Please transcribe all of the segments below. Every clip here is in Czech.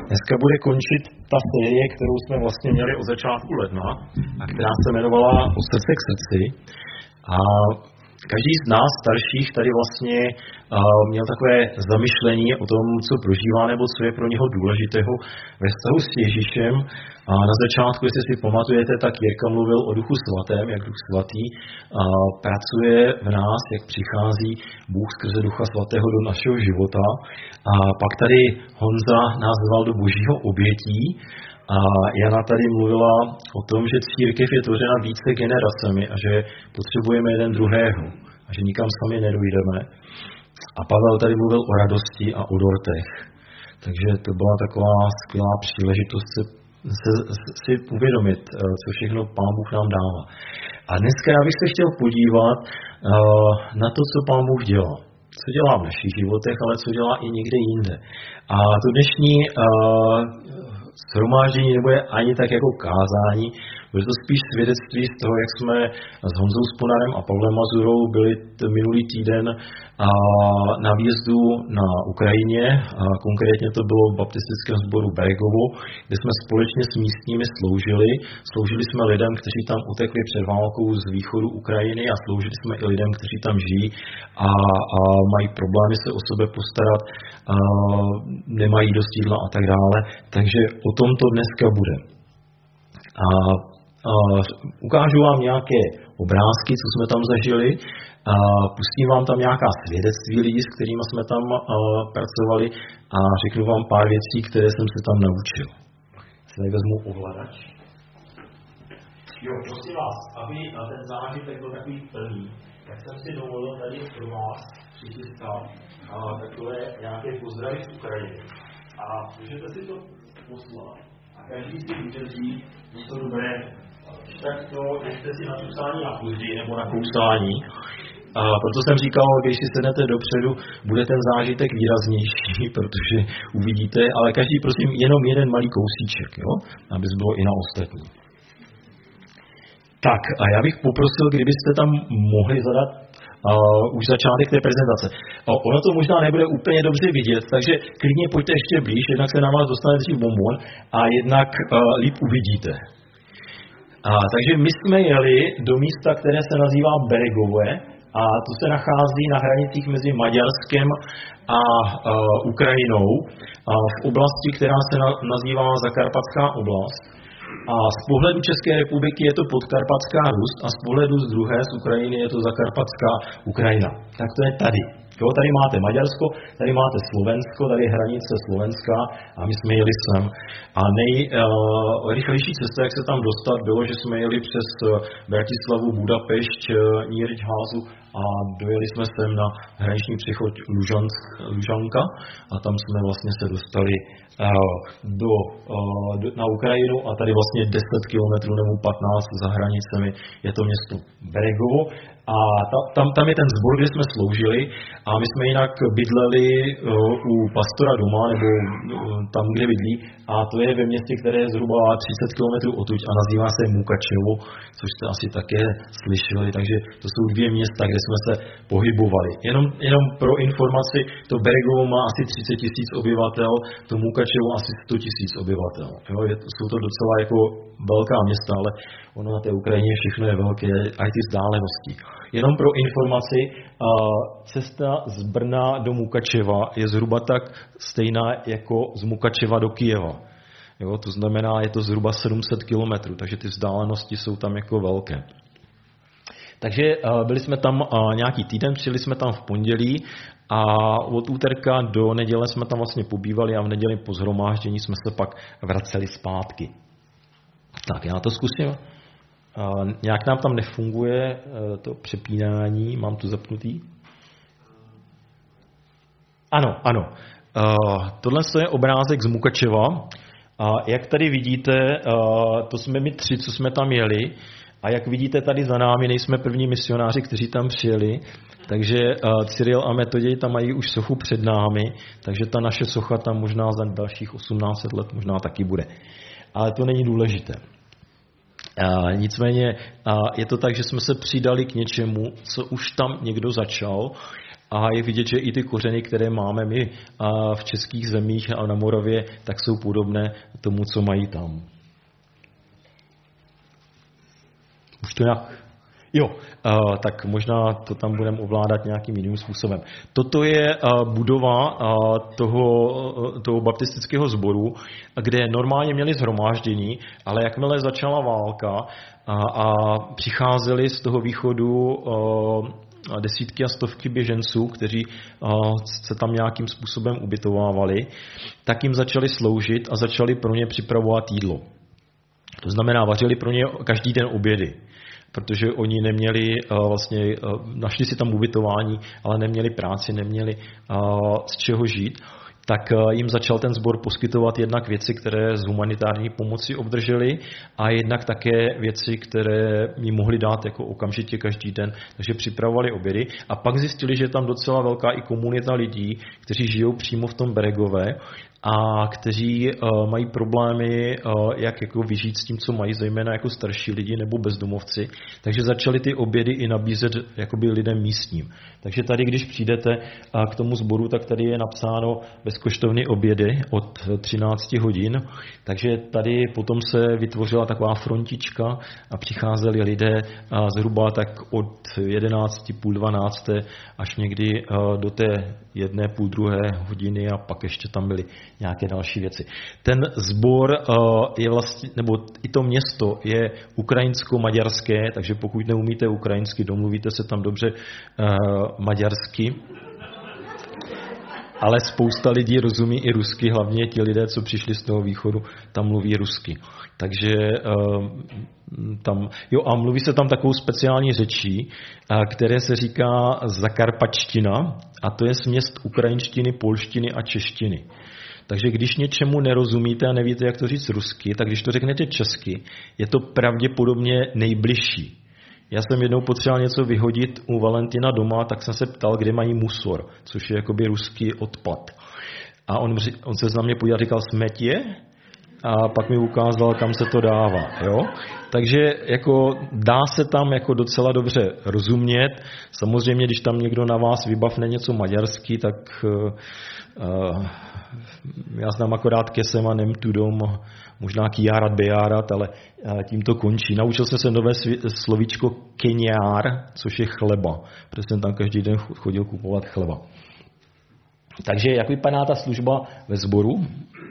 Dneska bude končit ta série, kterou jsme vlastně měli od začátku ledna a která se jmenovala Od srdce k srdci. A každý z nás starších tady vlastně měl takové zamyšlení o tom, co prožívá nebo co je pro něho důležitého ve vztahu s Ježíšem. A na začátku, jestli si pamatujete, tak Jirka mluvil o Duchu svatém, jak Duch svatý pracuje v nás, jak přichází Bůh skrze Ducha svatého do našeho života. A pak tady Honza nás zval do božího obětí. A Jana tady mluvila o tom, že církev je tvořena více generacemi a že potřebujeme jeden druhého a že nikam sami nedojdeme. A Pavel tady mluvil o radosti a o dortech. Takže to byla taková skvělá příležitost si uvědomit, co všechno Pán Bůh nám dává. A dneska já bych se chtěl podívat na to, co Pán Bůh dělá. Co dělá v našich životech, ale co dělá i někde jinde. A to dnešní shromáždění nebude ani tak jako kázání, bude to spíš svědectví z toho, jak jsme s Honzou Sponarem a Pavlem Mazurou byli minulý týden na výjezdu na Ukrajině. A konkrétně to bylo v baptistickém sboru Beregovo, kde jsme společně s místními sloužili. Sloužili jsme lidem, kteří tam utekli před válkou z východu Ukrajiny a sloužili jsme i lidem, kteří tam žijí a mají problémy se o sebe postarat, nemají dost jídla a tak dále. Takže o tom to dneska bude. A ukážu vám nějaké obrázky, co jsme tam zažili, pustím vám tam nějaká svědectví lidí, s kterými jsme tam pracovali a řeknu vám pár věcí, které jsem se tam naučil. Si tady vezmu ovladač. Jo, prosím vás, aby ten zážitek byl takový plný, tak jsem si dovolil tady pro vás přichystat takové nějaké pozdravy z Ukrajiny. A můžete si to poslat. A každý si vydrží něco dobrého. Tak to nechte si na čusání na později nebo na kousání. A proto jsem říkal, když si sednete dopředu, bude ten zážitek výraznější, protože uvidíte, ale každý prosím jenom jeden malý kousíček, jo? Aby bylo i na ostatní. Tak a já bych poprosil, kdybyste tam mohli zadat už začátek té prezentace. Ono to možná nebude úplně dobře vidět, takže klidně pojďte ještě blíž, jednak se na vás dostane dřív bonbon a jednak líp uvidíte. Takže my jsme jeli do místa, které se nazývá Beregové a to se nachází na hranicích mezi Maďarskem a Ukrajinou v oblasti, která se nazývá Zakarpatská oblast. A z pohledu České republiky je to Podkarpatská Rus a z pohledu z druhé, z Ukrajiny, je to Zakarpatská Ukrajina. Tak to je tady. Jo, tady máte Maďarsko, tady máte Slovensko, tady je hranice Slovenska a my jsme jeli sem. A nejrychlejší cesta, jak se tam dostat, bylo, že jsme jeli přes Bratislavu, Budapešť, Nyíregyházu a dojeli jsme sem na hraniční přechod Lužanka a tam jsme vlastně se dostali na Ukrajinu a tady vlastně 10 kilometrů nebo 15 za hranicemi je to město Beregovo. A tam je ten sbor, kde jsme sloužili a my jsme jinak bydleli u pastora doma, nebo tam, kde bydlí, a to je ve městě, které je zhruba 30 km odtud a nazývá se Mukačevo, což jste asi také slyšeli, takže to jsou 2 města, kde jsme se pohybovali. Jenom pro informaci, to Beregovo má asi 30 000 obyvatel, to Mukačevo asi 100 000 obyvatel. Jo, jsou to docela jako velká města, ale ono na té Ukrajině všechno je velké, aj ty vzdálenosti. Jenom pro informaci, cesta z Brna do Mukačeva je zhruba tak stejná jako z Mukačeva do Kyjeva. Jo, to znamená, je to zhruba 700 kilometrů, takže ty vzdálenosti jsou tam jako velké. Takže byli jsme tam nějaký týden, přijeli jsme tam v pondělí a od úterka do neděle jsme tam vlastně pobývali a v neděli po shromáždění jsme se pak vraceli zpátky. Tak, já to zkusím. Nějak nám tam nefunguje to přepínání, mám to zapnutý. Ano. Tohle je obrázek z Mukačeva. Jak tady vidíte, to jsme my 3, co jsme tam jeli. A jak vidíte tady za námi, nejsme první misionáři, kteří tam přijeli. Takže Cyril a Metoděj tam mají už sochu před námi, takže ta naše socha tam možná za dalších 1800 let možná taky bude. Ale to není důležité. Nicméně je to tak, že jsme se přidali k něčemu, co už tam někdo začal a je vidět, že i ty kořeny, které máme my v českých zemích a na Moravě, tak jsou podobné tomu, co mají tam. Už to nějak... Jo, tak možná to tam budeme ovládat nějakým jiným způsobem. Toto je budova toho baptistického sboru, kde normálně měli shromáždění, ale jakmile začala válka a přicházeli z toho východu desítky a stovky běženců, kteří se tam nějakým způsobem ubytovávali, tak jim začali sloužit a začali pro ně připravovat jídlo. To znamená, vařili pro ně každý den obědy, protože oni neměli našli si tam ubytování, ale neměli práci, neměli z čeho žít, tak jim začal ten sbor poskytovat jednak věci, které z humanitární pomoci obdrželi a jednak také věci, které jim mohli dát jako okamžitě každý den, takže připravovali obědy a pak zjistili, že je tam docela velká i komunita lidí, kteří žijou přímo v tom Beregové a kteří mají problémy, jak jako vyžít s tím, co mají, zejména jako starší lidi nebo bezdomovci. Takže začali ty obědy i nabízet jakoby lidem místním. Takže tady, když přijdete k tomu sboru, tak tady je napsáno bezkoštovní obědy od 13 hodin. Takže tady potom se vytvořila taková frontička a přicházeli lidé zhruba tak od 11, půl 12 až někdy do té 1, půl 2 hodiny a pak ještě tam byly nějaké další věci. Ten sbor je vlastně, nebo i to město je ukrajinsko-maďarské, takže pokud neumíte ukrajinsky, domluvíte se tam dobře maďarsky. Ale spousta lidí rozumí i rusky, hlavně ti lidé, co přišli z toho východu, tam mluví rusky. Takže tam, jo, a mluví se tam takovou speciální řečí, které se říká zakarpačtina, a to je směs ukrajinštiny, polštiny a češtiny. Takže když něčemu nerozumíte a nevíte, jak to říct rusky, tak když to řeknete česky, je to pravděpodobně nejbližší. Já jsem jednou potřeboval něco vyhodit u Valentina doma, tak jsem se ptal, kde mají musor, což je jakoby ruský odpad. A on se na mě podíval a říkal smetě a pak mi ukázal, kam se to dává. Jo? Takže jako dá se tam jako docela dobře rozumět. Samozřejmě, když tam někdo na vás vybavne něco maďarsky, tak já znám akorát kesem a nem tudom, možná kijárat, bejárat, ale tím to končí. Naučil jsem se nové slovíčko keňár, což je chleba, protože jsem tam každý den chodil kupovat chleba. Takže jak vypadá ta služba ve sboru?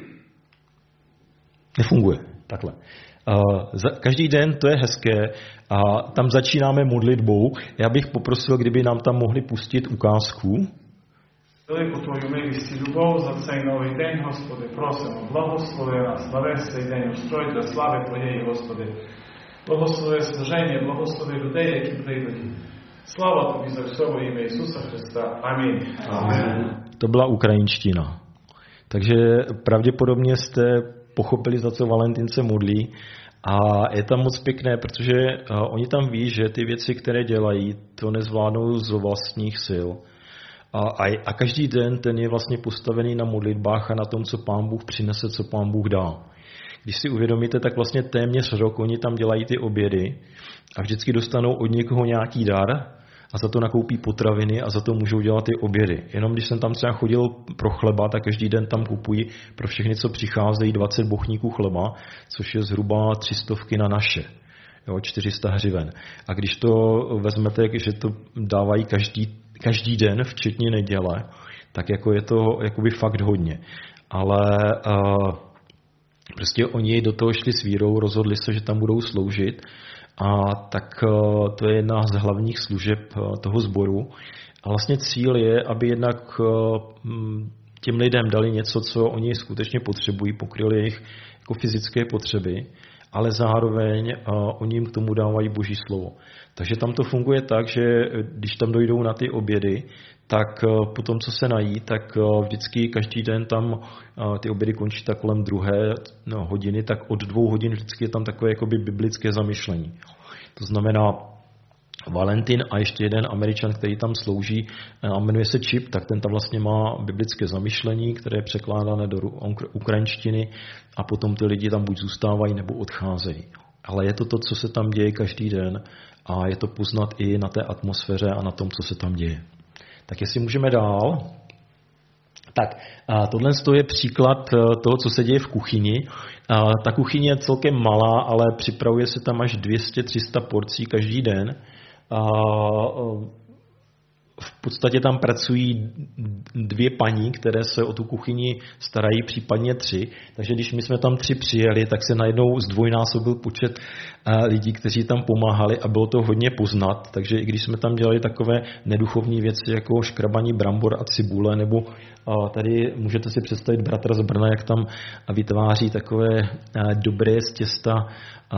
Nefunguje takhle. Každý den to je hezké a tam začínáme modlitbou. Já bych poprosil, kdyby nám tam mohli pustit ukázku. Велику Твою милість і любов за цей новий день, Господи, просимо, благослови нас на весь цей день устрой для слави Твоєї, Господи. Благослови служення, благослови людей, які прийдуть. Слава Тобі за все во ім'я Ісуса Христа. Амінь. Amen. To byla ukrajinština. Takže pravděpodobně jste pochopili, za co Valentín se modlí. A je tam moc pěkné, protože oni tam ví, že ty věci, které dělají, to nezvládnou z vlastních sil. A každý den ten je vlastně postavený na modlitbách a na tom, co Pán Bůh přinese, co Pán Bůh dá. Když si uvědomíte, tak vlastně téměř rok oni tam dělají ty obědy a vždycky dostanou od někoho nějaký dar a za to nakoupí potraviny a za to můžou dělat ty obědy. Jenom když jsem tam třeba chodil pro chleba, tak každý den tam kupují pro všechny, co přicházejí, 20 bochníků chleba, což je zhruba 300 na naše. Jo, 400 hřiven. A když to vezmete, že to dávají každý den, včetně neděle, tak jako je to jakoby fakt hodně. Ale prostě oni do toho šli s vírou, rozhodli se, že tam budou sloužit a tak to je jedna z hlavních služeb toho sboru. A vlastně cíl je, aby jednak těm lidem dali něco, co oni skutečně potřebují, pokryli jejich jako fyzické potřeby, ale zároveň oni jim k tomu dávají Boží slovo. Takže tam to funguje tak, že když tam dojdou na ty obědy, tak potom, co se nají, tak vždycky každý den tam ty obědy končí tak kolem 2 hodiny, tak od 2 hodin vždycky je tam takové jakoby biblické zamyšlení. To znamená Valentin a ještě jeden Američan, který tam slouží a jmenuje se Chip, tak ten tam vlastně má biblické zamyšlení, které je překládané do ukrajinštiny a potom ty lidi tam buď zůstávají nebo odcházejí. Ale je to to, co se tam děje každý den a je to poznat i na té atmosféře a na tom, co se tam děje. Tak jestli můžeme dál. Tak, tohle je příklad toho, co se děje v kuchyni. Ta kuchyně je celkem malá, ale připravuje se tam až 200-300 porcí každý den. V podstatě tam pracují 2 paní, které se o tu kuchyni starají, případně 3. Takže když my jsme tam 3 přijeli, tak se najednou zdvojnásobil počet lidí, kteří tam pomáhali a bylo to hodně poznat. Takže i když jsme tam dělali takové neduchovní věci, jako škrabaní brambor a cibule, nebo tady můžete si představit bratra z Brna, jak tam vytváří takové dobré z těsta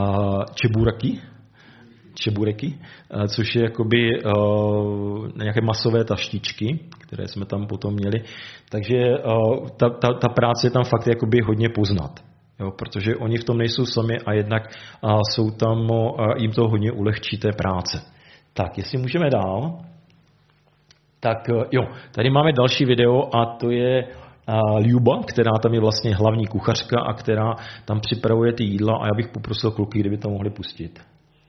čebureky, což je jakoby nějaké masové taštičky, které jsme tam potom měli. Takže ta práce je tam fakt jakoby hodně poznat, jo, protože oni v tom nejsou sami a jednak jsou tam, jim to hodně ulehčí té práce. Tak, jestli můžeme dál. Tak jo, tady máme další video a to je Ljuba, která tam je vlastně hlavní kuchařka a která tam připravuje ty jídla a já bych poprosil kluky, kdyby to mohli pustit.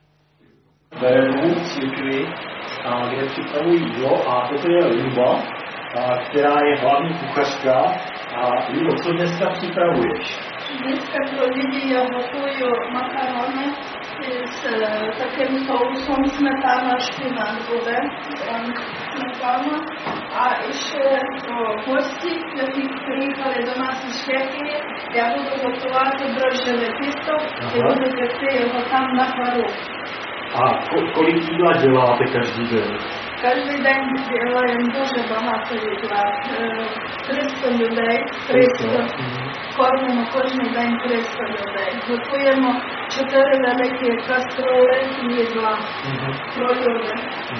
Beru církvi, kde připravují jídlo a toto je Ljuba, která je hlavní kuchařka. A Ljubo, co dneska připravuješ? Dneska pro lidi já gotuju makarony s takým sousem smetana, špinát bude, smetana. A ještě pro hosti, kteří přijíchali do nás z Čechy, já budu gotovat drožděné těsto, kde budete si ho tam na paru. A kolik jídla děláte každý den? Každý den dělajem дуже багато jídla. 300 людей, 300. Кормимо кожен день 300 людей. Готуємо 4 великі каструли їдла. Про люди.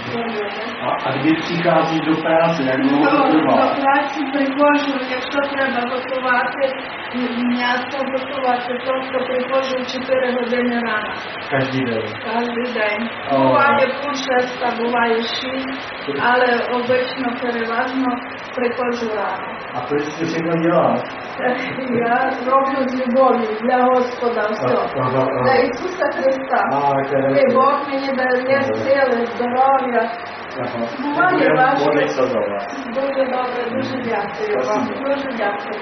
A kdy přichází do práce, jak dlouho to trvá? До праці приходжу, якщо треба готувати м'ясо, готувати, то приходжу в 4 години рано. Každý den? Každý день. Буває пів 6, буває 6, але обично переважно приходжу рано. A proč jsi všechno dělá? Я роблю з любов'ю для Господа все. Для Ісуса Христа. І Бог мені дає сили, здоров'я. Буває важко. Дуже добре, дуже дякую вам. Дуже дякую.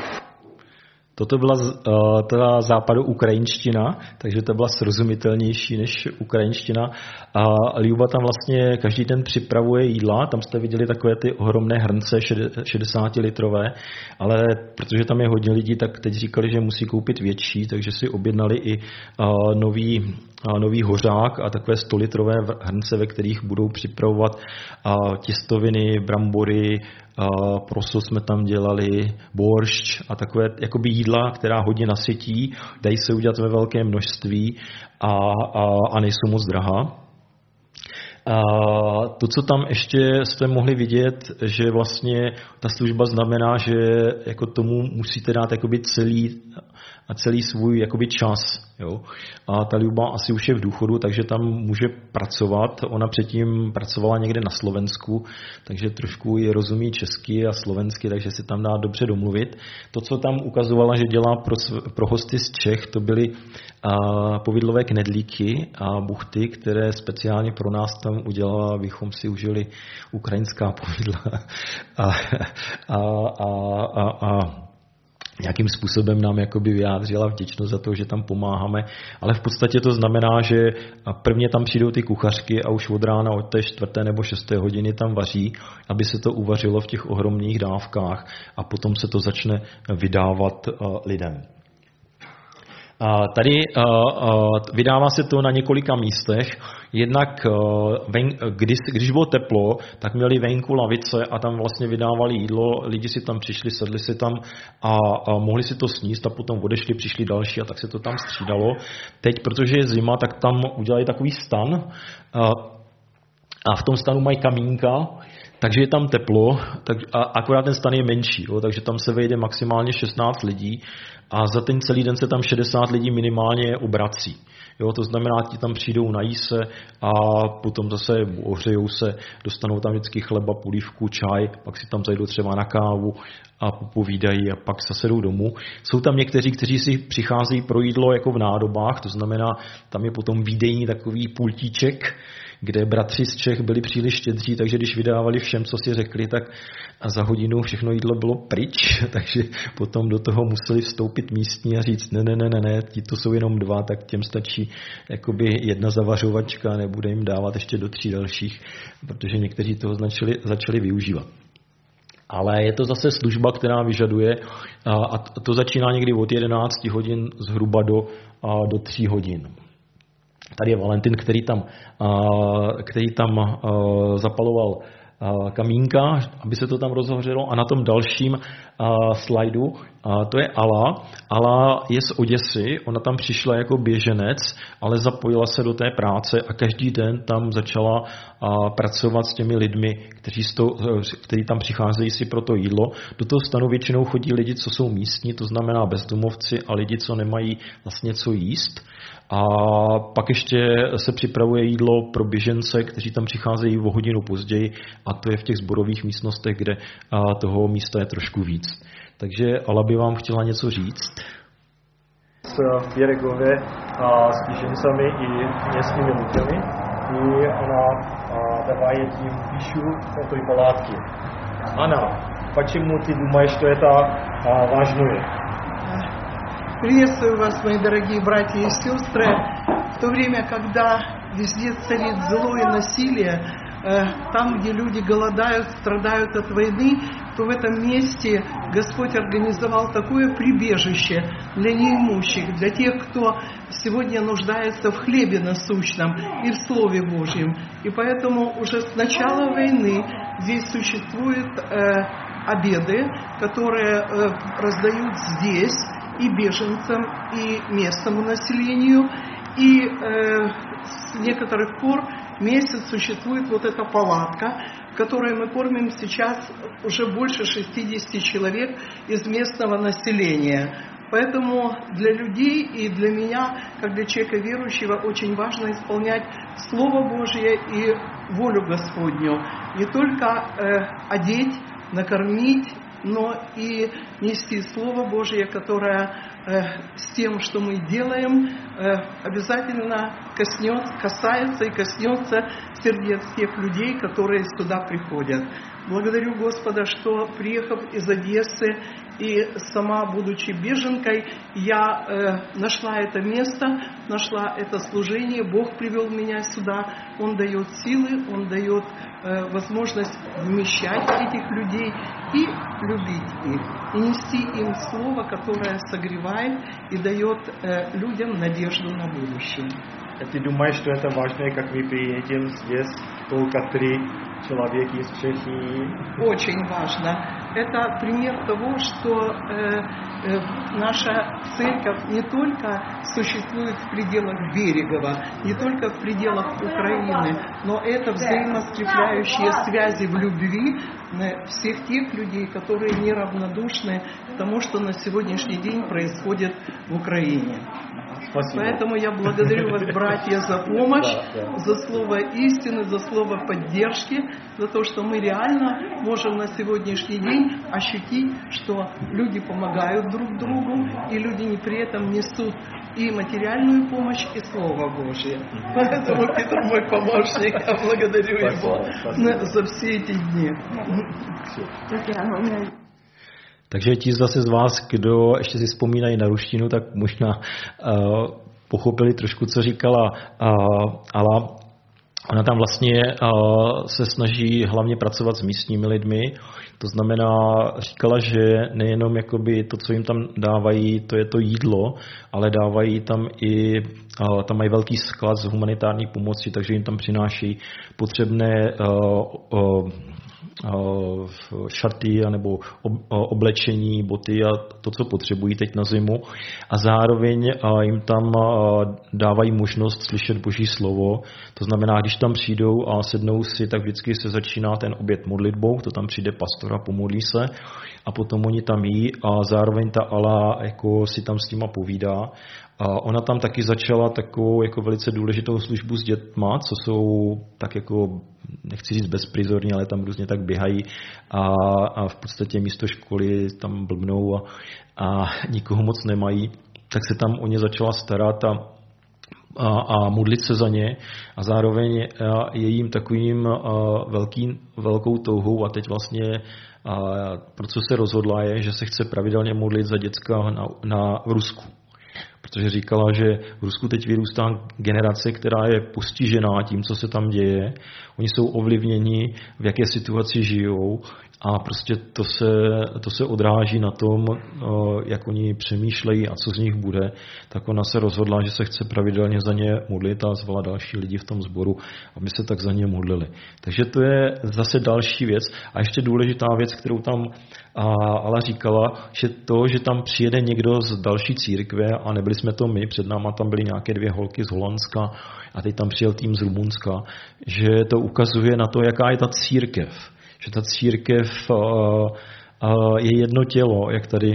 Toto byla teda západoukrajinština, takže to byla srozumitelnější než ukrajinština. A Ljuba tam vlastně každý den připravuje jídla, tam jste viděli takové ty ohromné hrnce 60-litrové, ale protože tam je hodně lidí, tak teď říkali, že musí koupit větší, takže si objednali i nový hořák a takové 100-litrové hrnce, ve kterých budou připravovat těstoviny, brambory, proso jsme tam dělali, boršč a takové jakoby jídla, která hodně nasytí, dají se udělat ve velké množství a nejsou moc drahá. To, co tam ještě jste mohli vidět, že vlastně ta služba znamená, že jako tomu musíte dát jakoby celý svůj jakoby čas. Jo? A ta Ljuba asi už je v důchodu, takže tam může pracovat. Ona předtím pracovala někde na Slovensku, takže trošku ji rozumí česky a slovensky, takže si tam dá dobře domluvit. To, co tam ukazovala, že dělá pro hosty z Čech, to byly povidlové knedlíky a buchty, které speciálně pro nás tam udělala, abychom si užili ukrajinská povidla a nějakým způsobem nám jakoby vyjádřila vděčnost za to, že tam pomáháme, ale v podstatě to znamená, že prvně tam přijdou ty kuchařky a už od rána od té 4. nebo 6. hodiny tam vaří, aby se to uvařilo v těch ohromných dávkách a potom se to začne vydávat lidem. Tady vydává se to na několika místech. Jednak, když bylo teplo, tak měli venku lavice a tam vlastně vydávali jídlo. Lidi si tam přišli, sedli si tam a mohli si to sníst a potom odešli, přišli další a tak se to tam střídalo. Teď, protože je zima, tak tam udělali takový stan a v tom stanu mají kamínka, takže je tam teplo, akorát ten stan je menší, jo, takže tam se vejde maximálně 16 lidí a za ten celý den se tam 60 lidí minimálně obrací. Jo, to znamená, ti tam přijdou, nají se a potom zase ohřejou se, dostanou tam vždycky chleba, polívku, čaj, pak si tam zajdou třeba na kávu a popovídají a pak zase jdou domů. Jsou tam někteří, kteří si přicházejí pro jídlo jako v nádobách, to znamená, tam je potom výdejní takový pultíček, kde bratři z Čech byli příliš štědří, takže když vydávali všem, co si řekli, tak za hodinu všechno jídlo bylo pryč, takže potom do toho museli vstoupit místní a říct ne, ti to jsou jenom 2, tak těm stačí jakoby 1 zavařovačka, nebude jim dávat ještě do 3 dalších, protože někteří toho začali využívat. Ale je to zase služba, která vyžaduje, a to začíná někdy od 11 hodin zhruba do 3 hodin. Tady je Valentin, který tam zapaloval kamínka, aby se to tam rozhořelo, a na tom dalším slajdu to je Ala. Ala je z Oděsy, ona tam přišla jako běženec, ale zapojila se do té práce a každý den tam začala pracovat s těmi lidmi, kteří tam přicházejí si pro to jídlo. Do toho stanu většinou chodí lidi, co jsou místní, to znamená bezdomovci a lidi, co nemají vlastně co jíst. A pak ještě se připravuje jídlo pro běžence, kteří tam přicházejí o hodinu později, a to je v těch sborových místnostech, kde toho místa je trošku víc. Takže Ala by vám chtěla něco říct. V Běregově s běžencami i městskými lidmi, i ona dává tím píšu o té pалатky. Anna, почему ты думаешь, что это важно? Приветствую вас, мои дорогие братья и сестры. В то время, когда везде царит зло и насилие, там, где люди голодают, страдают от войны, то в этом месте Господь организовал такое прибежище для неимущих, для тех, кто сегодня нуждается в хлебе насущном и в Слове Божьем. И поэтому уже с начала войны здесь существуют обеды, которые раздают здесь и беженцам, и местному населению. И с некоторых пор месяц существует вот эта палатка, в которой мы кормим сейчас уже больше 60 человек из местного населения. Поэтому для людей и для меня, как для человека верующего, очень важно исполнять Слово Божье и волю Господню. Не только одеть, накормить, но и нести Слово Божье, которое с тем, что мы делаем, обязательно касается и коснется сердец тех людей, которые сюда приходят. Благодарю Господа, что, приехав из Одессы и сама, будучи беженкой, я нашла это место, нашла это служение. Бог привел меня сюда. Он дает силы, Он дает возможность вмещать этих людей и любить их, и нести им слово, которое согревает и дает людям надежду на будущее. Ты думаешь, что это важно, как мы приедем здесь только 3 человека из Чехии? Очень важно. Это пример того, что наша церковь не только существует в пределах Берегова, не только в пределах Украины, но это взаимоскрепляющие связи в любви всех тех людей, которые неравнодушны к тому, что на сегодняшний день происходит в Украине. Спасибо. Поэтому я благодарю вас, братья, за помощь, за слово истины, за слово поддержки, за то, что мы реально можем на сегодняшний день ощутить, что люди помогают друг другу, и люди при этом несут и материальную помощь, и Слово Божие. Поэтому Петр мой помощник, я благодарю его за все эти дни. Takže ti zase z vás, kdo ještě si vzpomínají na ruštinu, tak možná pochopili trošku, co říkala Ala. Ona tam vlastně se snaží hlavně pracovat s místními lidmi. To znamená, říkala, že nejenom jakoby to, co jim tam dávají, to je to jídlo, ale dávají tam i, tam mají velký sklad z humanitární pomoci, takže jim tam přináší potřebné šaty nebo oblečení, boty a to, co potřebují teď na zimu. A zároveň jim tam dávají možnost slyšet Boží slovo. To znamená, když tam přijdou a sednou si, tak vždycky se začíná ten oběd modlitbou, to tam přijde pastor a pomodlí se a potom oni tam jí a zároveň ta Ala jako si tam s nima povídá. A ona tam taky začala takovou jako velice důležitou službu s dětma, co jsou tak jako, nechci říct bezprizorní, ale tam různě tak běhají a v podstatě místo školy tam blbnou a nikoho moc nemají, tak se tam o ně začala starat a a modlit se za ně a zároveň je jim takovým velkou touhou a teď vlastně pro co se rozhodla je, že se chce pravidelně modlit za děcka v Rusku. Protože říkala, že v Rusku teď vyrůstá generace, která je postižená tím, co se tam děje. Oni jsou ovlivněni, v jaké situaci žijou a prostě to se odráží na tom, jak oni přemýšlejí a co z nich bude. Tak ona se rozhodla, že se chce pravidelně za ně modlit a zvala další lidi v tom sboru, aby se tak za ně modlili. Takže to je zase další věc. A ještě důležitá věc, kterou tam Ala říkala, že tam přijede někdo z další církve a nebyli jsme to my, před náma tam byly nějaké 2 holky z Holandska a teď tam přijel tým z Rumunska, že to ukazuje na to, jaká je ta církev. Že ta církev je jedno tělo, jak tady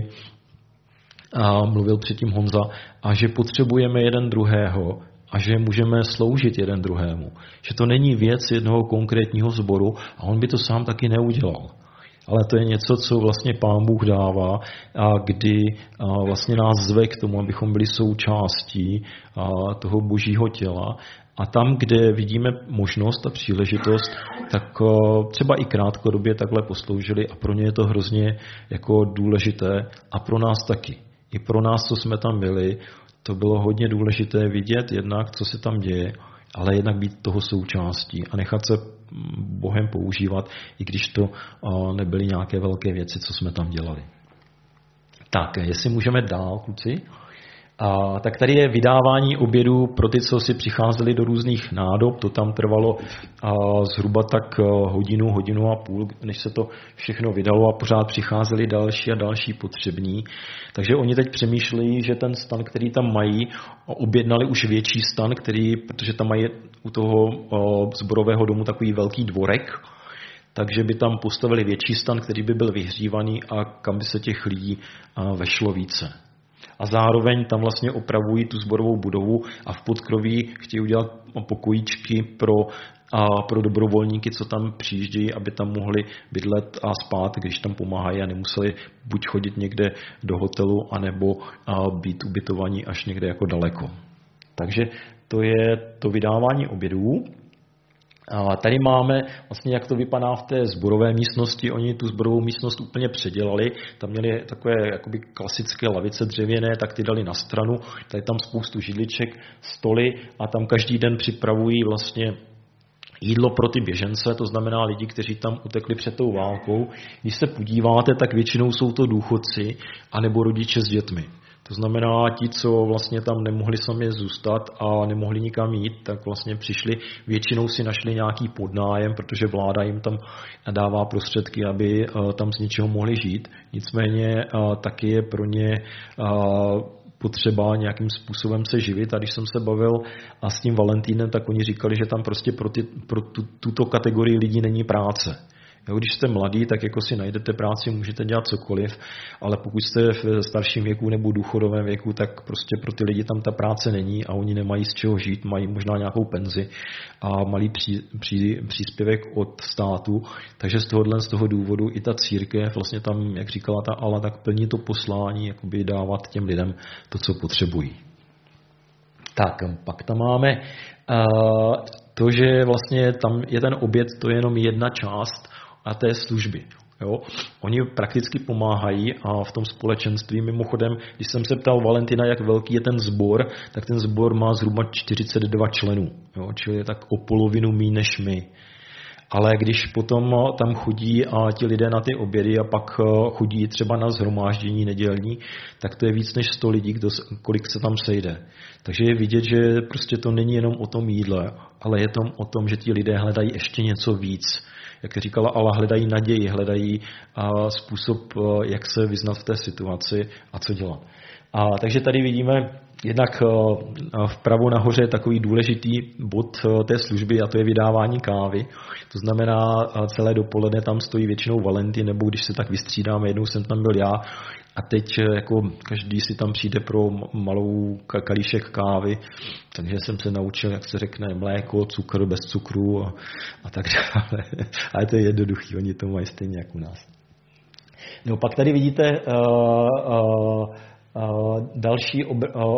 mluvil předtím Honza, a že potřebujeme jeden druhého a že můžeme sloužit jeden druhému. Že to není věc jednoho konkrétního sboru a on by to sám taky neudělal. Ale to je něco, co vlastně Pán Bůh dává, kdy vlastně nás zve k tomu, abychom byli součástí toho božího těla. A tam, kde vidíme možnost a příležitost, tak třeba i krátkodobě takhle posloužili a pro ně je to hrozně jako důležité a pro nás taky. I pro nás, co jsme tam byli, to bylo hodně důležité vidět jednak, co se tam děje, ale jednak být toho součástí a nechat se Bohem používat, i když to nebyly nějaké velké věci, co jsme tam dělali. Tak, jestli můžeme dál, kluci. Tak tady je vydávání obědů pro ty, co si přicházeli do různých nádob. To tam trvalo zhruba tak hodinu a půl, než se to všechno vydalo a pořád přicházeli další a další potřební. Takže oni teď přemýšlejí, že ten stan, který tam mají, objednali už větší stan, protože tam mají u toho sborového domu takový velký dvorek, takže by tam postavili větší stan, který by byl vyhřívaný a kam by se těch lidí vešlo více. A zároveň tam vlastně opravují tu sborovou budovu a v podkroví chtějí udělat pokojíčky pro dobrovolníky, co tam přijíždějí, aby tam mohli bydlet a spát, když tam pomáhají a nemuseli buď chodit někde do hotelu, anebo být ubytovaní až někde jako daleko. Takže to je to vydávání obědů. A tady máme vlastně, jak to vypadá v té sborové místnosti. Oni tu sborovou místnost úplně předělali. Tam měli takové jakoby klasické lavice dřevěné, tak ty dali na stranu. Tady tam spoustu židliček, stoly a tam každý den připravují vlastně jídlo pro ty běžence, to znamená lidi, kteří tam utekli před tou válkou. Když se podíváte, tak většinou jsou to důchodci anebo rodiče s dětmi. To znamená, ti, co vlastně tam nemohli sami zůstat a nemohli nikam jít, tak vlastně přišli, většinou si našli nějaký podnájem, protože vláda jim tam dává prostředky, aby tam z něčeho mohli žít. Nicméně taky je pro ně potřeba nějakým způsobem se živit. A když jsem se bavil s tím Valentínem, tak oni říkali, že tam prostě pro tuto kategorii lidí není práce. Jo, když jste mladý, tak jako si najdete práci, můžete dělat cokoliv, ale pokud jste v starším věku nebo důchodovém věku, tak prostě pro ty lidi tam ta práce není a oni nemají z čeho žít, mají možná nějakou penzi a malý příspěvek od státu, takže z toho důvodu i ta církev vlastně tam, jak říkala ta Ala, tak plní to poslání, jakoby dávat těm lidem to, co potřebují. Tak, pak tam máme to, že vlastně tam je ten oběd, to je jenom jedna část a té služby. Jo? Oni prakticky pomáhají a v tom společenství, mimochodem, když jsem se ptal Valentina, jak velký je ten sbor, tak ten sbor má zhruba 42 členů, jo? Čili je tak o polovinu míň než my. Ale když potom tam chodí a ti lidé na ty obědy a pak chodí třeba na shromáždění nedělní, tak to je víc než 100 lidí, kolik se tam sejde. Takže je vidět, že prostě to není jenom o tom jídle, ale je to o tom, že ti lidé hledají ještě něco víc. Jak říkala Ala, hledají naději, hledají způsob, jak se vyznat v té situaci a co dělat. Takže tady vidíme jednak vpravo nahoře je takový důležitý bod té služby a to je vydávání kávy. To znamená, celé dopoledne tam stojí většinou Valentin, nebo když se tak vystřídáme, jednou jsem tam byl já a teď jako každý si tam přijde pro malou kalíšek kávy, takže jsem se naučil, jak se řekne, mléko, cukr, bez cukru a tak dále. Ale to je jednoduchý, oni to mají stejně jako u nás. No pak tady vidíte další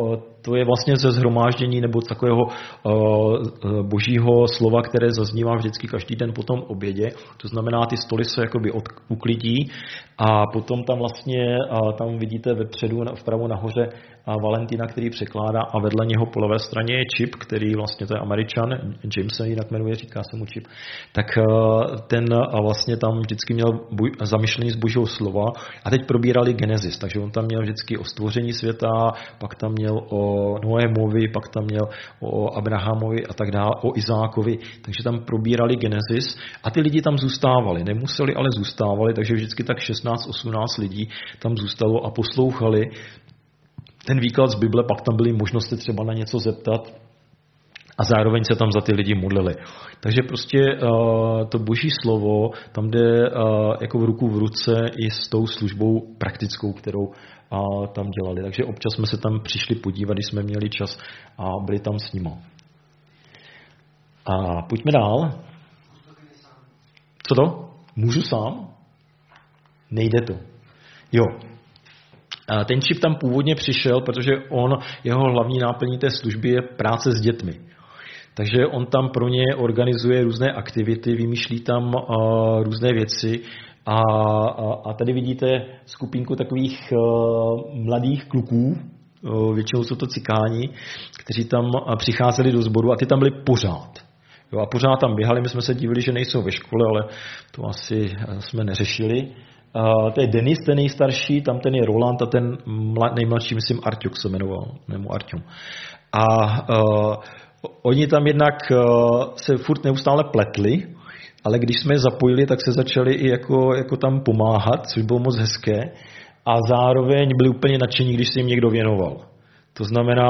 to je vlastně ze shromáždění nebo takového božího slova, které zaznívá vždycky každý den po tom obědě. To znamená, ty stoly se jakoby uklidí a potom tam vlastně, tam vidíte vepředu, vpravo nahoře Valentina, který překládá a vedle něho po levé straně je Chip, který vlastně to je Američan, James se jinak jmenuje, říká se mu Chip. Tak ten vlastně tam vždycky měl zamyšlení z božího slova a teď probírali Genesis, takže on tam měl vždycky o stvoření světa, pak tam měl o Noémovi, pak tam měl o Abrahamovi a tak dále, o Izákovi, takže tam probírali Genesis a ty lidi tam zůstávali, nemuseli, ale zůstávali, takže vždycky tak 16-18 lidí tam zůstalo a poslouchali ten výklad z Bible, pak tam byly možnosti třeba na něco zeptat a zároveň se tam za ty lidi modlili. Takže prostě to boží slovo tam jde jako v ruku v ruce i s tou službou praktickou, kterou tam dělali. Takže občas jsme se tam přišli podívat, když jsme měli čas a byli tam s nimi. A pojďme dál. Co to? Můžu sám? Nejde to. Jo. Ten Chip tam původně přišel, protože jeho hlavní náplní té služby je práce s dětmi. Takže on tam pro ně organizuje různé aktivity, vymýšlí tam různé věci a tady vidíte skupinku takových mladých kluků, většinou jsou to cikáni, kteří tam přicházeli do sboru a ty tam byli pořád. Jo, a pořád tam běhali, my jsme se divili, že nejsou ve škole, ale to asi jsme neřešili. To je Denis, ten nejstarší, tam ten je Roland a ten nejmladší, myslím, Arťuk se jmenoval, nebo Arťum. A oni tam jednak se furt neustále pletli, ale když jsme je zapojili, tak se začali i jako tam pomáhat, což bylo moc hezké a zároveň byli úplně nadšení, když se jim někdo věnoval. To znamená,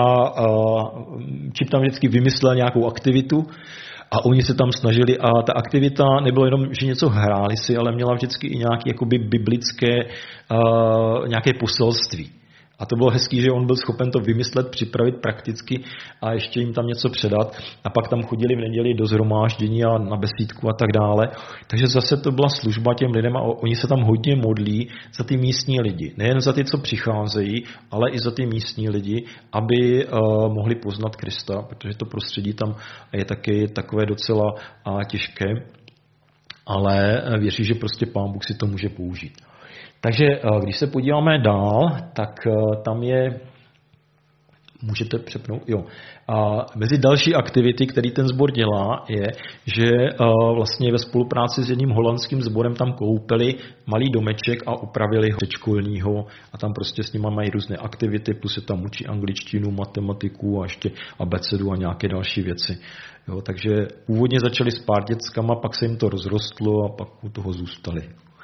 Chip tam vždycky vymyslel nějakou aktivitu a oni se tam snažili a ta aktivita nebylo jenom, že něco hráli si, ale měla vždycky i nějaké jakoby biblické nějaké poselství. A to bylo hezký, že on byl schopen to vymyslet, připravit prakticky a ještě jim tam něco předat. A pak tam chodili v neděli do shromáždění a na besídku a tak dále. Takže zase to byla služba těm lidem a oni se tam hodně modlí za ty místní lidi. Nejen za ty, co přicházejí, ale i za ty místní lidi, aby mohli poznat Krista, protože to prostředí tam je taky takové docela těžké. Ale věří, že prostě Pán Bůh si to může použít. Takže když se podíváme dál, tak tam je, můžete přepnout, jo. A mezi další aktivity, který ten sbor dělá, je, že vlastně ve spolupráci s jedním holandským sborem tam koupili malý domeček a upravili ho předškolního a tam prostě s nimi mají různé aktivity, plus se tam učí angličtinu, matematiku a ještě abecedu a nějaké další věci. Jo, takže původně začali s pár dětskama, pak se jim to rozrostlo a pak u toho zůstali.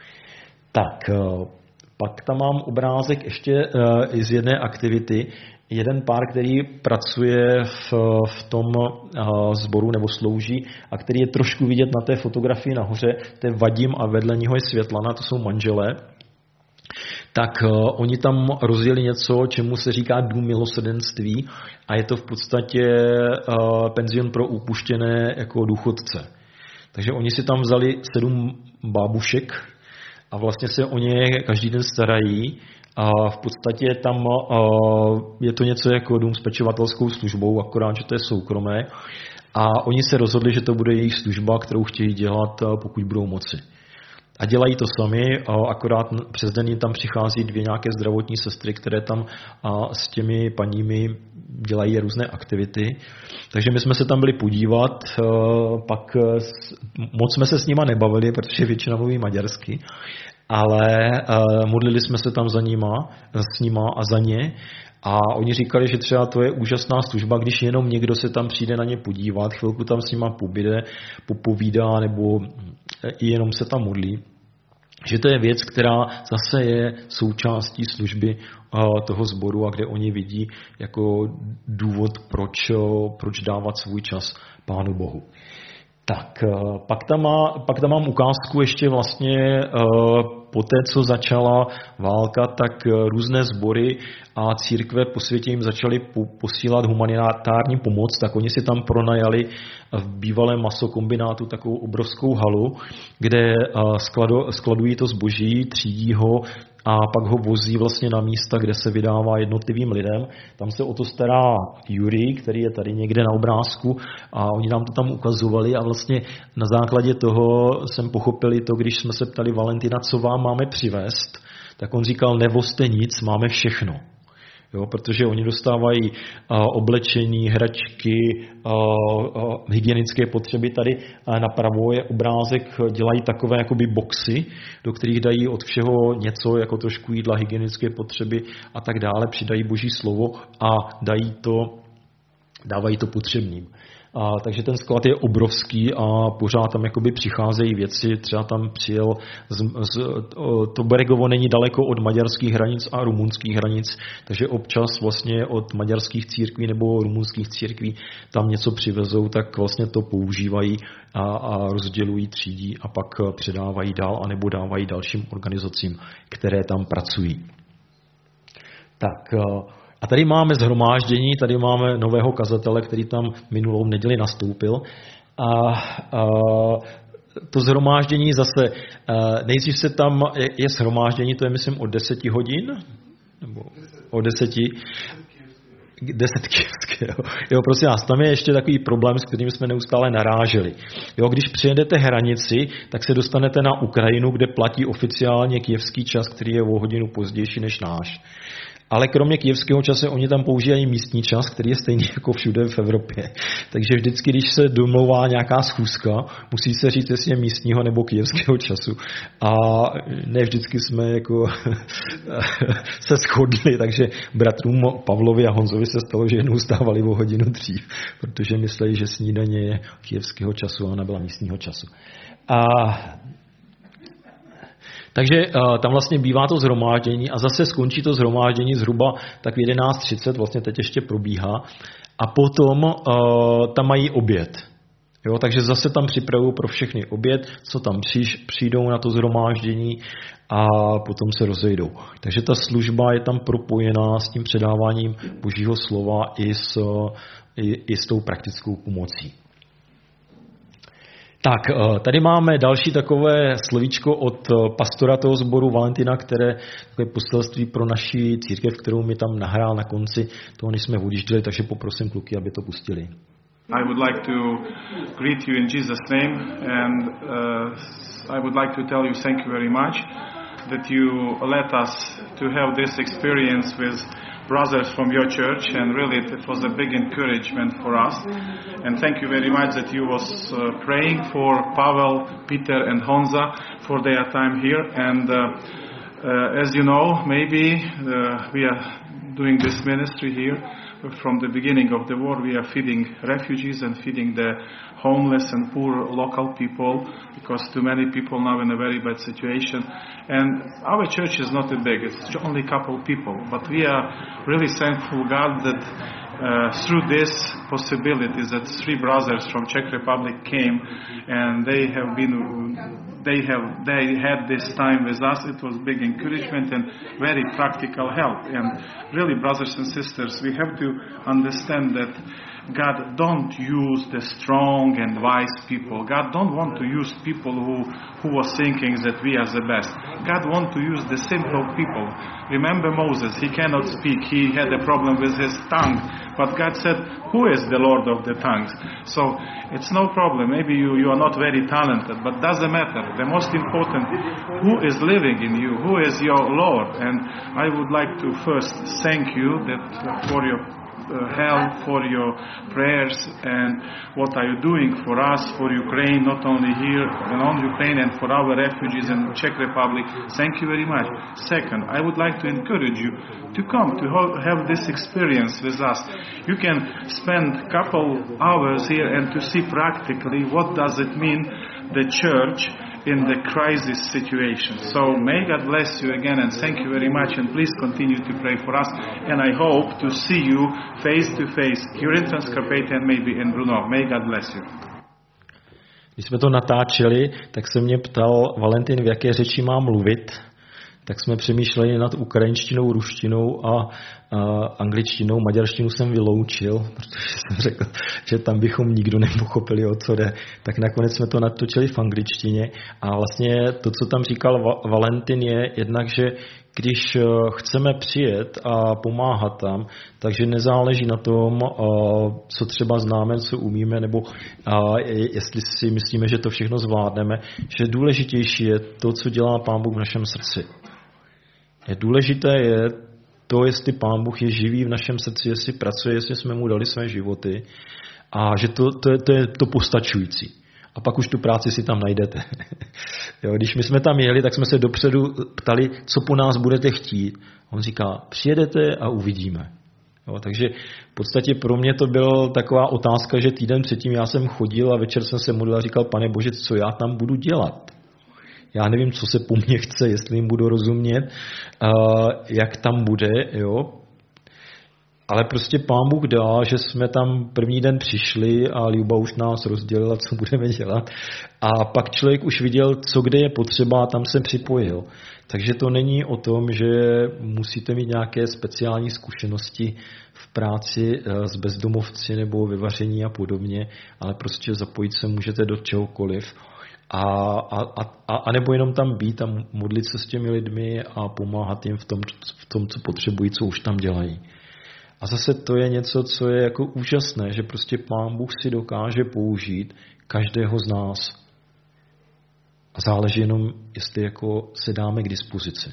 Tak, pak tam mám obrázek ještě z jedné aktivity. Jeden pár, který pracuje v tom sboru nebo slouží a který je trošku vidět na té fotografii nahoře, to je Vadim a vedle něho je Světlana, to jsou manželé. Tak oni tam rozjeli něco, čemu se říká dům milosrdenství a je to v podstatě penzion pro upuštěné jako důchodce. Takže oni si tam vzali 7 bábušek, a vlastně se o ně každý den starají a v podstatě tam je to něco jako dům s pečovatelskou službou, akorát, že to je soukromé a oni se rozhodli, že to bude jejich služba, kterou chtějí dělat, pokud budou moci. A dělají to sami, akorát přes den tam přichází 2 nějaké zdravotní sestry, které tam s těmi paními dělají různé aktivity. Takže my jsme se tam byli podívat, pak moc jsme se s nima nebavili, protože většina mluví maďarsky, ale modlili jsme se tam s nima a za ně. A oni říkali, že třeba to je úžasná služba, když jenom někdo se tam přijde na ně podívat, chvilku tam s nima pobyde, popovídá nebo i jenom se tam modlí. Že to je věc, která zase je součástí služby toho sboru a kde oni vidí jako důvod, proč dávat svůj čas Pánu Bohu. Tak, pak tam mám ukázku ještě vlastně po té, co začala válka, tak různé sbory a církve po světě jim začaly posílat humanitární pomoc, tak oni si tam pronajali v bývalém masokombinátu takovou obrovskou halu, kde skladují to zboží, třídí ho a pak ho vozí vlastně na místa, kde se vydává jednotlivým lidem. Tam se o to stará Jurij, který je tady někde na obrázku a oni nám to tam ukazovali a vlastně na základě toho jsem pochopil to, když jsme se ptali Valentina, co vám máme přivést, tak on říkal, nevozte nic, máme všechno. Jo, protože oni dostávají oblečení, hračky, hygienické potřeby. Tady napravo je obrázek, dělají takové jakoby boxy, do kterých dají od všeho něco, jako trošku jídla, hygienické potřeby a tak dále, přidají Boží slovo a dávají to potřebným. Takže ten sklad je obrovský a pořád tam jakoby přicházejí věci. Třeba tam přijel, to Beregovo není daleko od maďarských hranic a rumunských hranic, takže občas vlastně od maďarských církví nebo rumunských církví tam něco přivezou, tak vlastně to používají a rozdělují, třídí a pak předávají dál anebo dávají dalším organizacím, které tam pracují. Tak... A tady máme shromáždění, tady máme nového kazatele, který tam minulou neděli nastoupil. A to shromáždění zase, nejdřív se tam je shromáždění, to je myslím od 10 hodin, nebo od 10 kyjevské. Jo, prosím vás, tam je ještě takový problém, s kterým jsme neustále naráželi. Jo, když přijedete hranici, tak se dostanete na Ukrajinu, kde platí oficiálně kyjevský čas, který je o hodinu pozdější než náš. Ale kromě kyjevského času oni tam používají místní čas, který je stejný jako všude v Evropě. Takže vždycky, když se domlouvá nějaká schůzka, musí se říct, jestli je místního nebo kyjevského času. A ne vždycky jsme jako se shodli, takže bratrům Pavlovi a Honzovi se stalo, že jednou stávali o hodinu dřív, protože mysleli, že snídaně je kyjevského času a ona byla místního času. Takže tam vlastně bývá to shromáždění a zase skončí to shromáždění zhruba tak v 11:30, vlastně teď ještě probíhá, a potom tam mají oběd. Jo, takže zase tam připravují pro všechny oběd, co tam přijdou na to shromáždění a potom se rozejdou. Takže ta služba je tam propojená s tím předáváním Božího slova i s tou praktickou pomocí. Tak, tady máme další takové slovíčko od pastora toho sboru Valentina, které takové poselství pro naši církev, kterou mi tam nahrál na konci toho, než jsme odjížděli, takže poprosím kluky, aby to pustili. I would like to greet you in Jesus' name and I would like to tell you thank you very much that you let us to have this experience with brothers from your church, and really it was a big encouragement for us. And thank you very much that you was praying for Pavel, Peter and Honza for their time here. And as you know, maybe we are doing this ministry here. From the beginning of the war, we are feeding refugees and feeding the homeless and poor local people, because too many people now in a very bad situation. And our church is not that big, it's only a couple people, but we are really thankful God that through this possibilities that three brothers from Czech Republic came, and they had this time with us. It was big encouragement and very practical help. And really, brothers and sisters, we have to understand that God don't use the strong and wise people. God don't want to use people who was thinking that we are the best. God want to use the simple people. Remember Moses, he cannot speak. He had a problem with his tongue. But God said, who is the Lord of the tongues? So it's no problem. Maybe you are not very talented, but doesn't matter. The most important, who is living in you? Who is your Lord? And I would like to first thank you that for your help, for your prayers, and what are you doing for us, for Ukraine, not only here on Ukraine, and for our refugees in Czech Republic. Thank you very much. Second, I would like to encourage you to come to have this experience with us. You can spend a couple hours here and to see practically what does it mean the church in the crisis situation. So may God bless you again, and thank you very much, and please continue to pray for us, and I hope to see you face to face here in Transcarpathia and maybe in Brno. May God bless you. Když jsme to natáčeli, tak se mě ptal Valentin, v jaké řeči mám mluvit. Tak jsme přemýšleli nad ukrajinštinou, ruštinou a angličtinou. Maďarštinu jsem vyloučil, protože jsem řekl, že tam bychom nikdo nepochopili, o co jde. Tak nakonec jsme to natočili v angličtině. A vlastně to, co tam říkal Valentin, je jednak, že když chceme přijet a pomáhat tam, takže nezáleží na tom, co třeba známe, co umíme, nebo jestli si myslíme, že to všechno zvládneme, že důležitější je to, co dělá Pán Bůh v našem srdci. Důležité je to, jestli Pán Bůh je živý v našem srdci, jestli pracuje, jestli jsme mu dali své životy a že to je to postačující. A pak už tu práci si tam najdete. Jo, když my jsme tam jeli, tak jsme se dopředu ptali, co po nás budete chtít. On říká, přijedete a uvidíme. Jo, takže v podstatě pro mě to byla taková otázka, že týden předtím já jsem chodil a večer jsem se modlil a říkal, Pane Bože, co já tam budu dělat? Já nevím, co se po mně chce, jestli jim budu rozumět, jak tam bude, jo. Ale prostě Pán Bůh dá, že jsme tam první den přišli a Ljuba už nás rozdělila, co budeme dělat. A pak člověk už viděl, co kde je potřeba a tam se připojil. Takže to není o tom, že musíte mít nějaké speciální zkušenosti v práci s bezdomovci nebo vyvaření a podobně, ale prostě zapojit se můžete do čehokoliv. A nebo jenom tam být a modlit se s těmi lidmi a pomáhat jim v tom, co potřebují, co už tam dělají. A zase to je něco, co je jako úžasné, že prostě Pán Bůh si dokáže použít každého z nás. A záleží jenom, jestli jako se dáme k dispozici.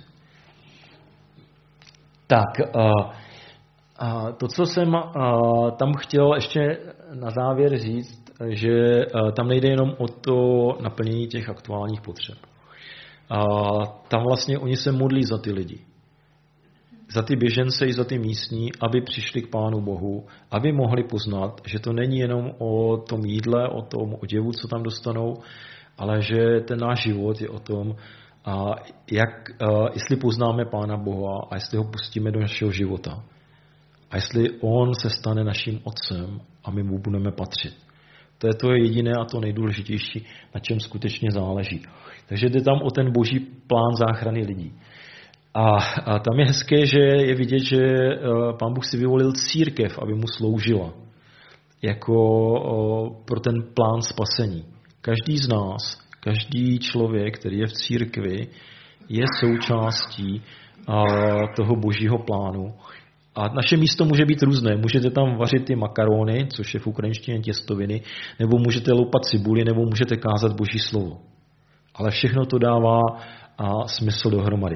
Tak, to, co jsem tam chtěl ještě na závěr říct, že tam nejde jenom o to naplnění těch aktuálních potřeb. Tam vlastně oni se modlí za ty lidi. Za ty běžence i za ty místní, aby přišli k Pánu Bohu, aby mohli poznat, že to není jenom o tom jídle, o tom oděvu, co tam dostanou, ale že ten náš život je o tom, jestli poznáme Pána Boha a jestli ho pustíme do našeho života. A jestli on se stane naším otcem a my mu budeme patřit. To je to jediné a to nejdůležitější, na čem skutečně záleží. Takže jde tam o ten boží plán záchrany lidí. A tam je hezké, že je vidět, že Pán Bůh si vyvolil církev, aby mu sloužila. Jako pro ten plán spasení. Každý z nás, každý člověk, který je v církvi, je součástí toho božího plánu. A naše místo může být různé. Můžete tam vařit ty makarony, což je v ukrajinštině těstoviny, nebo můžete loupat cibuli, nebo můžete kázat boží slovo. Ale všechno to dává smysl dohromady.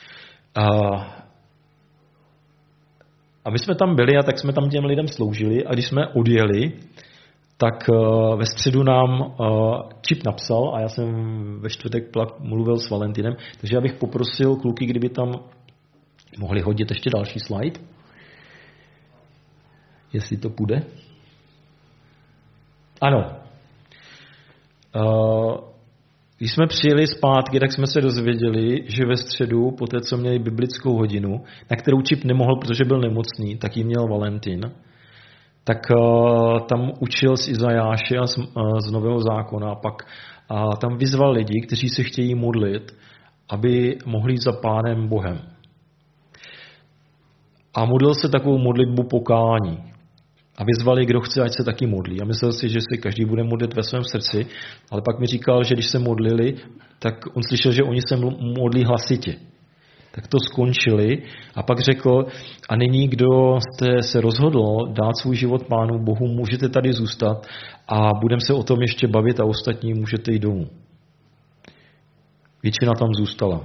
A my jsme tam byli a tak jsme tam těm lidem sloužili a když jsme odjeli, tak ve středu nám Čip napsal a já jsem ve čtvrtek mluvil s Valentinem, takže já bych poprosil kluky, kdyby tam mohli hodit ještě další slide, jestli to půjde. Ano. Když jsme přijeli zpátky, tak jsme se dozvěděli, že ve středu, po té, co měli biblickou hodinu, na kterou Čip nemohl, protože byl nemocný, tak ji měl Valentin, tak tam učil z Izajáše a z Nového zákona, pak tam vyzval lidi, kteří se chtějí modlit, aby mohli jít za Pánem Bohem. A modlil se takovou modlitbu pokání. A vyzvali, kdo chce, ať se taky modlí. A myslel si, že si každý bude modlit ve svém srdci, ale pak mi říkal, že když se modlili, tak on slyšel, že oni se modlí hlasitě. Tak to skončili a pak řekl, a nyní, kdo jste se rozhodl dát svůj život Pánu Bohu, můžete tady zůstat a budeme se o tom ještě bavit a ostatní můžete jít domů. Většina tam zůstala.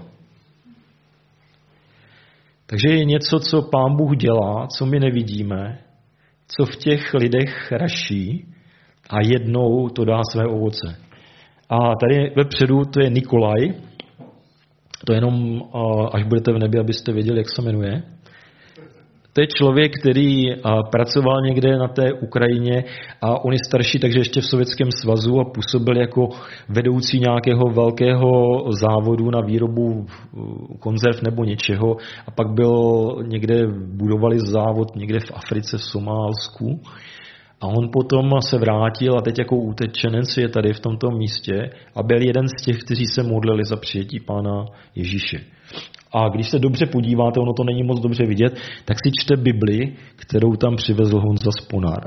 Takže je něco, co Pán Bůh dělá, co my nevidíme, co v těch lidech raší a jednou to dá své ovoce. A tady vepředu to je Nikolaj. To jenom, až budete v nebi, abyste věděli, jak se jmenuje. To je člověk, který pracoval někde na té Ukrajině a on je starší, takže ještě v Sovětském svazu a působil jako vedoucí nějakého velkého závodu na výrobu konzerv nebo něčeho a pak někde budovali závod někde v Africe, v Somálsku a on potom se vrátil a teď jako utečenec je tady v tomto místě a byl jeden z těch, kteří se modlili za přijetí Pána Ježíše. A když se dobře podíváte, ono to není moc dobře vidět, tak si čte Bibli, kterou tam přivezl Honza z Ponára.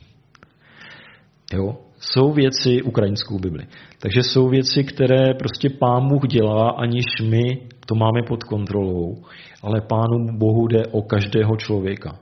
Jo? Jsou věci, ukrajinskou Bibli, takže jsou věci, které prostě Pán Bůh dělá, aniž my to máme pod kontrolou, ale Pánu Bohu jde o každého člověka.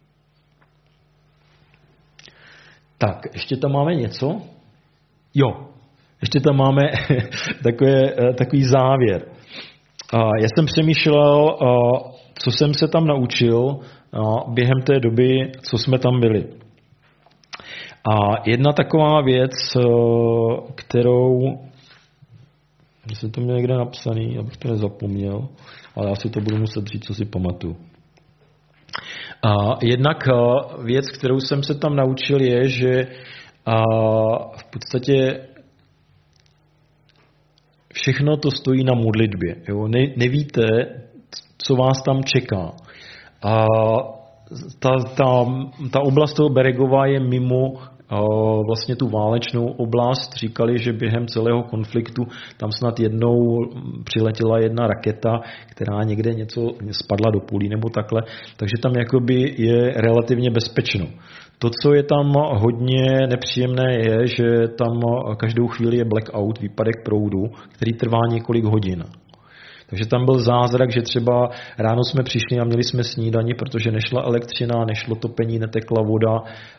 Tak, ještě tam máme něco? Jo, ještě tam máme takový závěr. Já jsem přemýšlel, co jsem se tam naučil během té doby, co jsme tam byli. A jedna taková věc, kterou, jsem to měl někde napsaný, abych to nezapomněl, ale já si to budu muset říct, co si pamatuju. Jednak věc, kterou jsem se tam naučil, je, že v podstatě všechno to stojí na modlitbě. Jo? Nevíte, co vás tam čeká. A ta oblast toho Beregova je mimo vlastně tu válečnou oblast. Říkali, že během celého konfliktu tam snad jednou přiletěla jedna raketa, která někde něco spadla do půlí nebo takhle. Takže tam jakoby je relativně bezpečno. To, co je tam hodně nepříjemné, je, že tam každou chvíli je blackout, výpadek proudu, který trvá několik hodin. Takže tam byl zázrak, že třeba ráno jsme přišli a měli jsme snídani, protože nešla elektřina, nešlo topení, netekla voda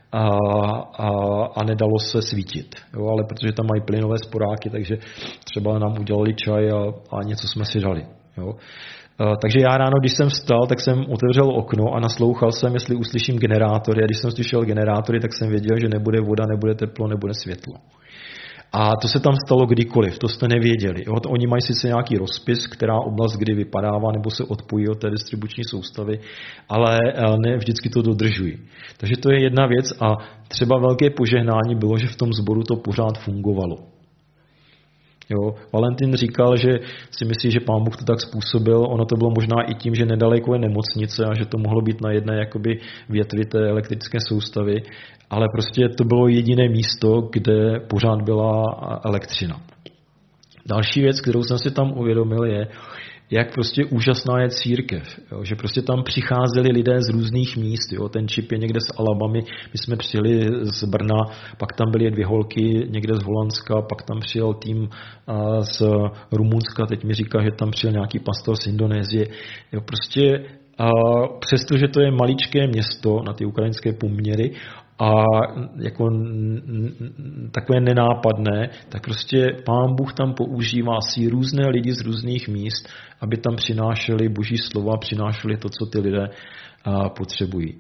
a nedalo se svítit. Jo, ale protože tam mají plynové sporáky, takže třeba nám udělali čaj a něco jsme si dali. Jo. Takže já ráno, když jsem vstal, tak jsem otevřel okno a naslouchal jsem, jestli uslyším generátory. A když jsem slyšel generátory, tak jsem věděl, že nebude voda, nebude teplo, nebude světlo. A to se tam stalo kdykoliv, to jste nevěděli. Jo? Oni mají sice nějaký rozpis, která oblast kdy vypadává nebo se odpojí od té distribuční soustavy, ale ne vždycky to dodržují. Takže to je jedna věc a třeba velké požehnání bylo, že v tom sboru to pořád fungovalo. Jo, Valentin říkal, že si myslí, že Pán Bůh to tak způsobil. Ono to bylo možná i tím, že nedaleko je nemocnice a že to mohlo být na jedné jakoby větvi té elektrické soustavy, ale prostě to bylo jediné místo, kde pořád byla elektřina. Další věc, kterou jsem si tam uvědomil, je, jak prostě úžasná je církev. Jo? Že prostě tam přicházeli lidé z různých míst. Jo? Ten čip je někde z Alabamy, my jsme přijeli z Brna, pak tam byly 2 holky někde z Holandska, pak tam přijel tým z Rumunska, teď mi říká, že tam přijel nějaký pastor z Indonésie. Jo? Prostě přestože to je maličké město na ty ukrajinské poměry, a jako takové nenápadné, tak prostě Pán Bůh tam používá si různé lidi z různých míst, aby tam přinášeli Boží slova, přinášeli to, co ty lidé potřebují.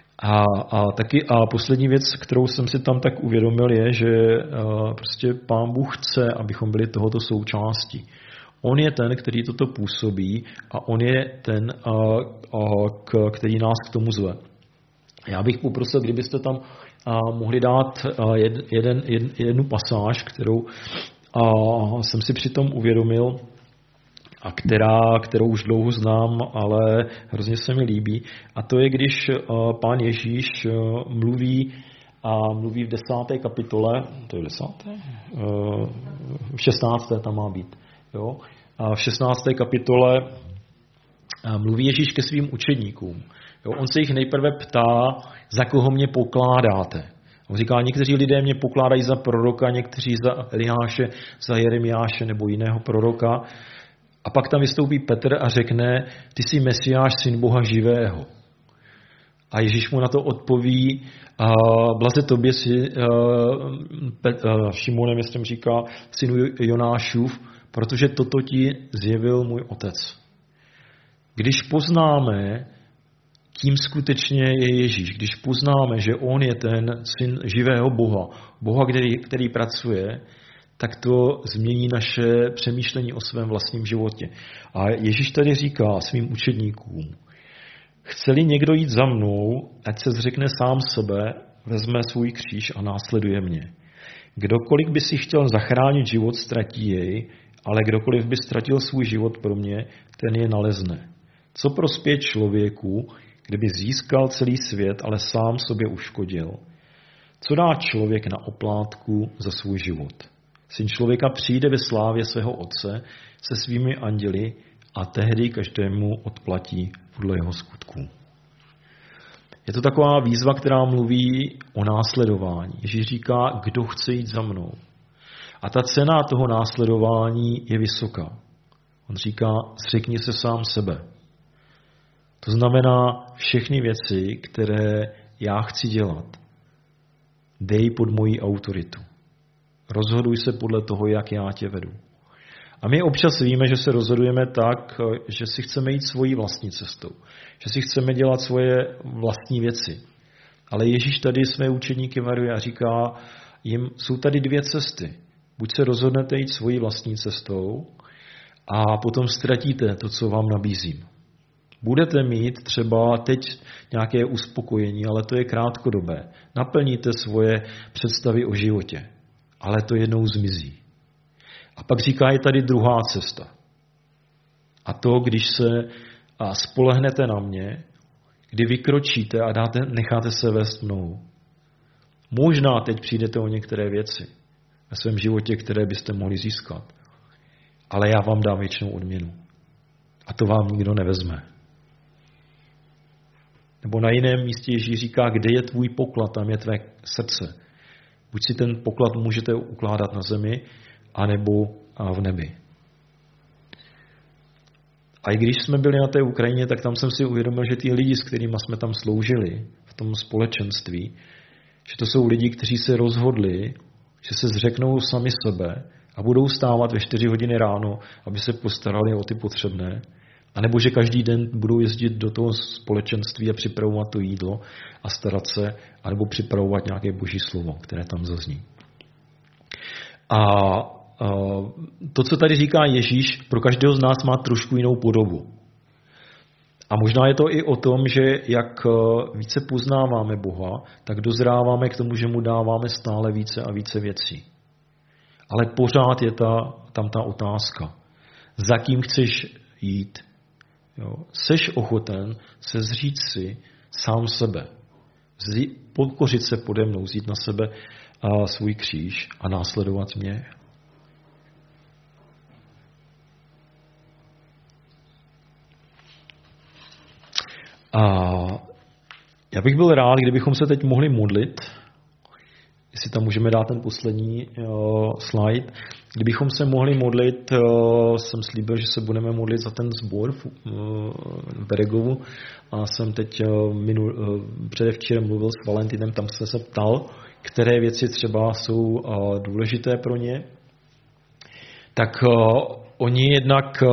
A poslední věc, kterou jsem si tam tak uvědomil, je, že prostě Pán Bůh chce, abychom byli tohoto součástí. On je ten, který toto působí a on je ten, který nás k tomu zve. Já bych poprosil, kdybyste tam mohli dát jednu pasáž, kterou jsem si přitom uvědomil a kterou už dlouho znám, ale hrozně se mi líbí. A to je, když Pán Ježíš mluví v 10. kapitole, to je 10. V 16. tam má být. Jo? A v 16. kapitole mluví Ježíš ke svým učedníkům. Jo, on se jich nejprve ptá, za koho mě pokládáte. On říká, někteří lidé mě pokládají za proroka, někteří za Eliáše, za Jeremiáše nebo jiného proroka. A pak tam vystoupí Petr a řekne, ty jsi Mesiáš, syn Boha živého. A Ježíš mu na to odpoví, blaze tobě Šimonem, jestli říká, synu Jonášův, protože toto ti zjevil můj otec. Když poznáme, kým skutečně je Ježíš, když poznáme, že on je ten syn živého Boha, který pracuje, tak to změní naše přemýšlení o svém vlastním životě. A Ježíš tady říká svým učedníkům, chce-li někdo jít za mnou, ať se zřekne sám sebe, vezme svůj kříž a následuje mě. Kdokoliv by si chtěl zachránit život, ztratí jej, ale kdokoliv by ztratil svůj život pro mě, ten je nalezne. Co prospěje člověku, kdyby získal celý svět, ale sám sobě uškodil? Co dá člověk na oplátku za svůj život? Syn člověka přijde ve slávě svého otce se svými anděli a tehdy každému odplatí podle jeho skutků. Je to taková výzva, která mluví o následování. Ježíš říká, kdo chce jít za mnou. A ta cena toho následování je vysoká. On říká, zřekni se sám sebe. To znamená všechny věci, které já chci dělat. Dej pod moji autoritu. Rozhoduj se podle toho, jak já tě vedu. A my občas víme, že se rozhodujeme tak, že si chceme jít svojí vlastní cestou. Že si chceme dělat svoje vlastní věci. Ale Ježíš tady své učeníky varuje a říká jim, jsou tady dvě cesty. Buď se rozhodnete jít svojí vlastní cestou a potom ztratíte to, co vám nabízím. Budete mít třeba teď nějaké uspokojení, ale to je krátkodobé. Naplníte svoje představy o životě, ale to jednou zmizí. A pak říká, je tady druhá cesta. A to, když se spolehnete na mě, kdy vykročíte a necháte se vést mnou. Možná teď přijdete o některé věci ve svém životě, které byste mohli získat. Ale já vám dám věčnou odměnu. A to vám nikdo nevezme. Nebo na jiném místě Ježíš říká, kde je tvůj poklad, tam je tvé srdce. Buď si ten poklad můžete ukládat na zemi, anebo v nebi. A i když jsme byli na té Ukrajině, tak tam jsem si uvědomil, že ty lidi, s kterými jsme tam sloužili v tom společenství, že to jsou lidi, kteří se rozhodli, že se zřeknou sami sebe a budou stávat ve 4 hodiny ráno, aby se postarali o ty potřebné, anebo že každý den budou jezdit do toho společenství a připravovat to jídlo a starat se, anebo připravovat nějaké boží slovo, které tam zazní. A to, co tady říká Ježíš, pro každého z nás má trošku jinou podobu. A možná je to i o tom, že jak více poznáváme Boha, tak dozráváme k tomu, že mu dáváme stále více a více věcí. Ale pořád je tam ta otázka. Za kým chceš jít? Jo? Seš ochoten se zříct si sám sebe. Pokořit se pode mnou, vzít na sebe svůj kříž a následovat mě. A já bych byl rád, kdybychom se teď mohli modlit, jestli tam můžeme dát ten poslední slide, kdybychom se mohli modlit, jsem slíbil, že se budeme modlit za ten sbor v Beregovu a jsem teď předevčírem mluvil s Valentinem, tam jsem se ptal, které věci třeba jsou důležité pro ně, tak oni jednak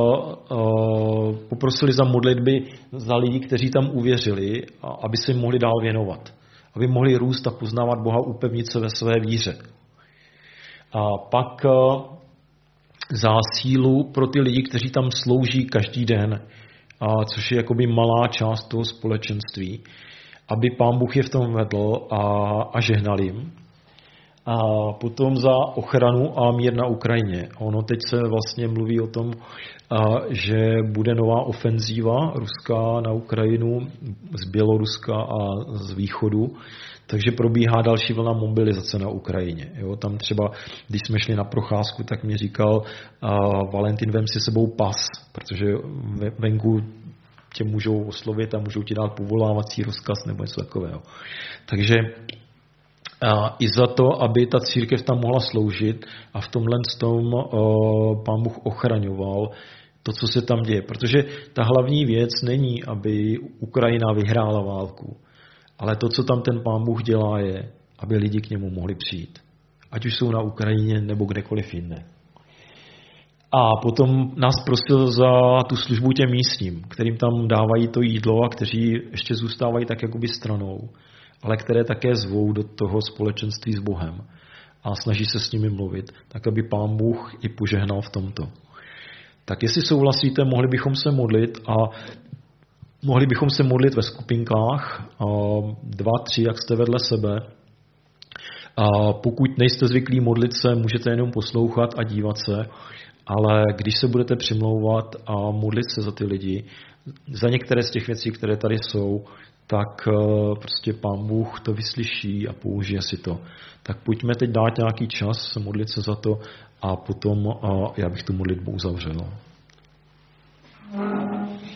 poprosili za modlitby za lidi, kteří tam uvěřili, aby se jim mohli dál věnovat. Aby mohli růst a poznávat Boha, upevnit se ve své víře. A pak za sílu pro ty lidi, kteří tam slouží každý den, což je jakoby malá část toho společenství, aby Pán Bůh je v tom vedl a žehnal jim. A potom za ochranu a mír na Ukrajině. Ono teď se vlastně mluví o tom, že bude nová ofenzíva ruská na Ukrajinu z Běloruska a z východu, takže probíhá další vlna mobilizace na Ukrajině. Jo, tam třeba, když jsme šli na procházku, tak mi říkal Valentin, vem si sebou pas, protože venku tě můžou oslovit a můžou ti dát povolávací rozkaz nebo něco takového. Takže i za to, aby ta církev tam mohla sloužit a v tomhle tom Pán Bůh ochraňoval to, co se tam děje. Protože ta hlavní věc není, aby Ukrajina vyhrála válku, ale to, co tam ten Pán Bůh dělá, je, aby lidi k němu mohli přijít. Ať už jsou na Ukrajině nebo kdekoliv jinde. A potom nás prosil za tu službu těm místním, kterým tam dávají to jídlo a kteří ještě zůstávají tak jakoby stranou, ale které také zvou do toho společenství s Bohem a snaží se s nimi mluvit, tak aby Pán Bůh i požehnal v tomto. Tak jestli souhlasíte, mohli bychom se modlit a mohli bychom se modlit ve skupinkách, 2, 3, jak jste vedle sebe. A pokud nejste zvyklí modlit se, můžete jenom poslouchat a dívat se, ale když se budete přimlouvat a modlit se za ty lidi, za některé z těch věcí, které tady jsou, tak prostě Pán Bůh to vyslyší a použije si to. Tak pojďme teď dát nějaký čas, modlit se za to a potom já bych tu modlitbu uzavřel.